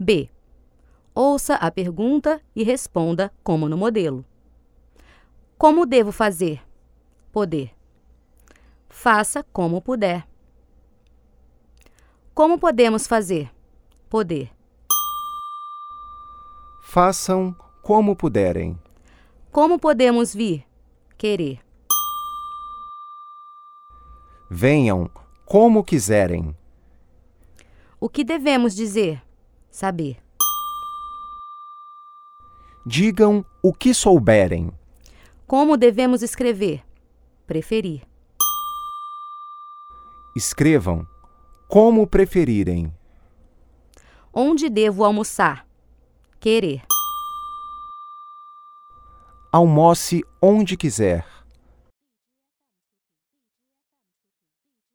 B. Ouça a pergunta e responda como no modelo. Como devo fazer? Poder. Faça como puder. Como podemos fazer? Poder. Façam como puderem. Como podemos vir? Querer. Venham como quiserem. O que devemos dizer? Saber. Digam o que souberem. Como devemos escrever? Preferir. Escrevam como preferirem. Onde devo almoçar? Querer. Almoce onde quiser.